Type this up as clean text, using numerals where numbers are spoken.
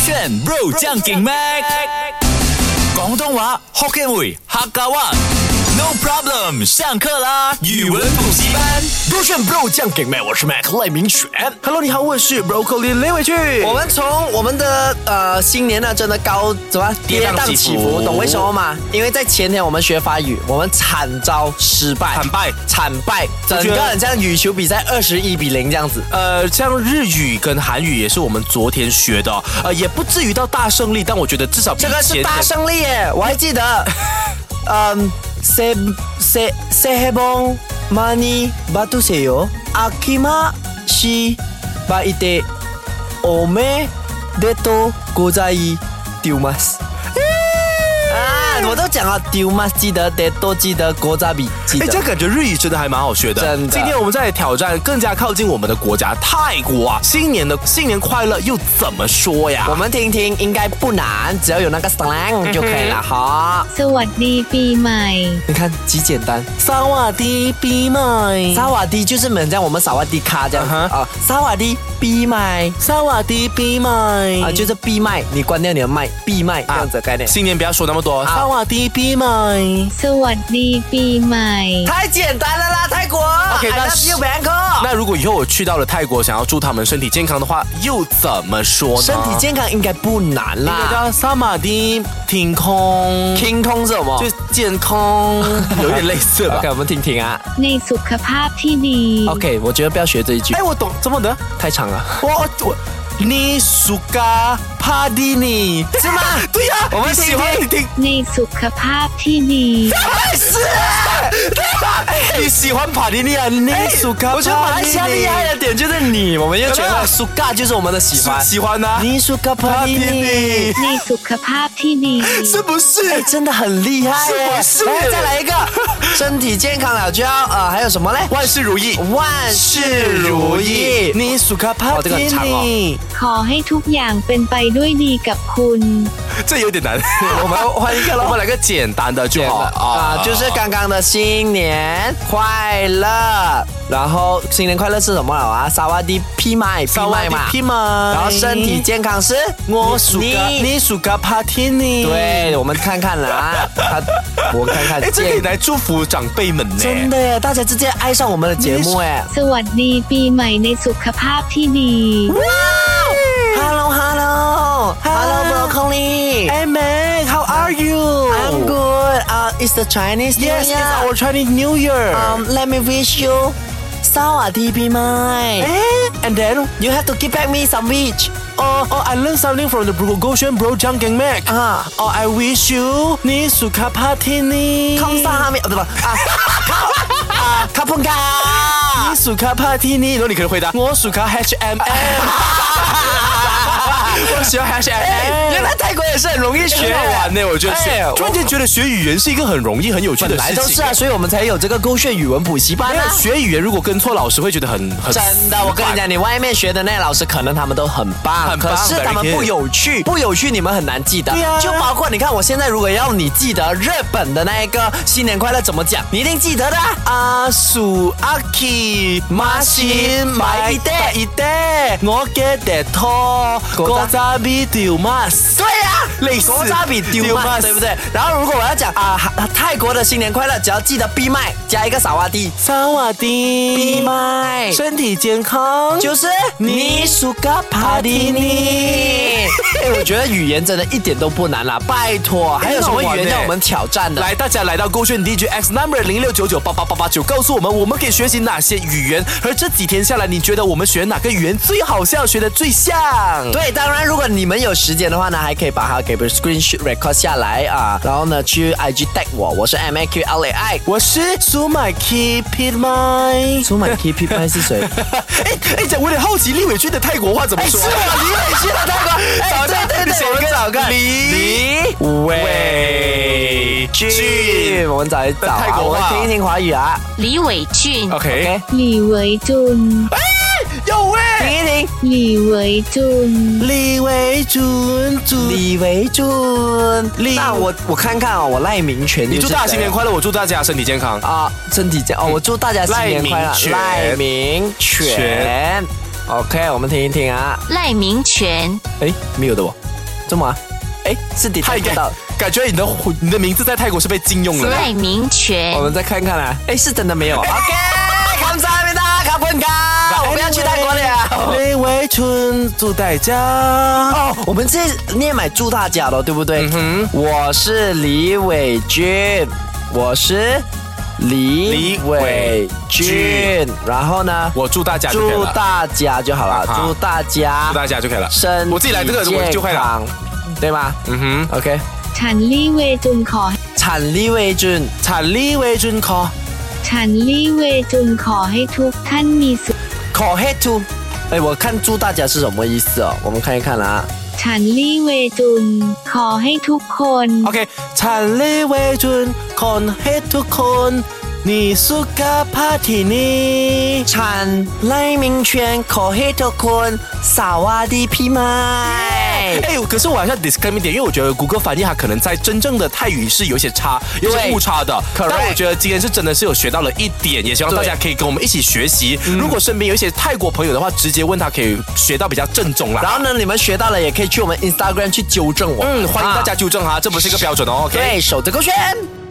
炫 Bro 將勁 Mac 廣東話 Hokkien 會客家話 No problem 上課啦語文補習班勾選 Bro 醬給妹，我是 Mac 賴明全。Hello， 你好，我是 Broccoli 雷偉俊。 我们从我们的新年呢，真的跌宕起伏，懂为什么吗？因为在前天我们学法语，我们惨遭失败，惨败，整个很像羽球比赛21-0这样子。 像日语跟韩语也是我们昨天学的，也不至于到大胜利，但我觉得至少比这个是大胜利耶，我还记得，새해 복 많이 받으세요. 아키마시 바이테 오메데토 고자이마스。我都讲了丢吗？记得得多记得国家比记得。 这样感觉日语真的还蛮好学的。 真的。 今天我们再来挑战更加靠近我们的国家泰国啊！新年快乐又怎么说呀？ 我们听听，应该不难，只要有那个 slang 就可以了哈。 สวัสดีปีใหม่。 你看极简单。 萨瓦迪ปีใหม่。 萨瓦迪就是很像我们萨瓦迪卡这样子啊。萨瓦迪ปีใหม่。 萨瓦迪ปีใหม่。 就是闭麦，你关掉你的麦，闭麦这样子的概念。 新年不要说那么多。萨瓦迪ปีใหม่。 สวัสดีปีใหม่。 太简单了啦，泰国。 OK， I love you Bangkok。 那如果以后我去到了泰国，想要祝他们身体健康的话，又怎么说呢？ 身体健康应该不难啦。 应该叫萨玛迪天空。 天空是什么？ 就是健康，有一点类似吧。 OK， 我们听听啊。 ในสุขภาพที่ดี。 OK， 我觉得不要学这一句。 我懂，怎么的？ 太长了。 你สุขภาพดีนี่是吗？ 对呀， 我们听听。 ในสุขภาพที่ดี。 是。 你喜欢帕蒂尼啊？你สุขภาพ。 我觉得马来西亚厉害的点就是你，我们又觉得สุข就是我们的喜欢啊。 你สุขภาพที่ดี。 ในสุขภาพที่ดี。 是不是？ 真的很厉害耶！ 是不是？ 再来一个，身体健康了就要还有什么嘞？ 万事如意， 万事如意。 你สุขภาพที่ดี。 ขอให้ทุกอย่างเป็นไปด้วยดีกับคุณ。 这有点难， 我们换一个咯。 我们来个简单的就好啊，就是刚刚的新年快乐。然后新年快乐是什么了啊？萨瓦迪ปีใหม่嘛。然后身体健康是你สุขภาพที่ดี。 对，我们看看啦，我看看。 这可以来祝福长辈们呢。 真的耶，大家直接爱上我们的节目哎。 สวัสดีปีใหม่ในสุขภาพที่ดี。 Hello Broccoli. Hey man, how are you? I'm good. It's the Chinese New Year. Yes, it's our Chinese New Year. Let me wish you สวัสดีปีใหม่ And then you have to give back me some wish. I learned something from the Go Xuan Bro 將勁 Mac. I wish you 你สุขภาพที่ดี康萨哈密对吧？卡punga 你สุขภาพที่ดี然后你可以回答我สุข HMM 我喜欢 HMM 原来泰国也是很容易学， 很好玩呢。我觉得突然间觉得学语言是一个很容易很有趣的事情。 本来都是啊，所以我们才有这个勾选语文补习班啊。 学语言如果跟错老师会觉得很真的，我跟你讲，你外面学的那老师可能他们都很棒，可是他们不有趣你们很难记得。 对啊， 就包括你看，我现在如果要你记得日本的那一个新年快乐怎么讲，你一定记得的。 阿叔阿 K 马新买一袋，我嘅地拖国家比丢 mas。 对呀， 类似国家比丢 mas， 对不对？然后如果我要讲泰国的新年快乐，只要记得闭麦加一个萨瓦迪， 萨瓦迪闭麦， 身体健康就是你สุขภาพที่ดี。我觉得语言真的一点都不难啦，拜托，还有什么语言让我们挑战的？ 来，大家来到勾选 DJX number 0699888889，告诉我们可以学习哪些语言？而这几天下来，你觉得我们学哪个语言最好笑，学得最像？ 对，当然，如果你们有时间的话呢，还可以把它给 screenshot record 下来啊，然后呢去 IG tag 我是 MAQLAI， 我是苏麦 Keep It My， 苏麦 Keep It My 是谁？ 我有点好奇李伟俊的泰国话怎么说？ 是我李伟俊的泰国，对，我们找个李伟俊，我们找一找泰国话， 我们听一听华语啊。 李伟俊 ，OK， 李伟俊， 有喂， 听一听， 李伟俊， 李伟俊， 李伟俊，那我看看哦，我赖明全， 你祝大家新年快乐，我祝大家身体健康啊，身体健哦，我祝大家新年快乐，赖明全 ，OK， 我们听一听啊， 赖明全， 没有的哦。 这么？哎，是的， 他应该感觉你的名字在泰国是被禁用了。 赖明权我，们再看看啊。哎，是真的没有。OK， 감사합니다，卡pun卡，我们要去泰国了。 李伟春，祝大家。 哦，我们这念买祝大家了，对不对？我是李伟君，我是李伟君，然后呢？ 我祝大家就可以了， 祝大家就好了，祝大家， 祝大家就可以了。 身体我自己来这个我就会了， 对吗？OK。 ฉันลี่เวจุนขอ产力为准， 产力为准考。 ฉันลี่เวจุนขอให้ทุกท่านมีสุขขอให้ทุก哎，我看祝大家是什么意思哦？我们看一看啦。 ฉันลี่เวจุนขอให้ทุกคน OK， 产力为准，คนให้ทุกคน你สุขภาพที่นี่ฉันไล่明权ขอให้ทุกคนสวัสดีพี่ไม้哎，可是我还是要 disclaim 一点，因为我觉得谷歌翻译它可能在真正的泰语是有些差，有些误差的。但我觉得今天是真的是有学到了一点，也希望大家可以跟我们一起学习。如果身边有一些泰国朋友的话，直接问他可以学到比较正宗啦。 然后呢，你们学到了也可以去我们 Instagram 去纠正我。 欢迎大家纠正哈，这不是一个标准哦。OK， 对，守着勾选。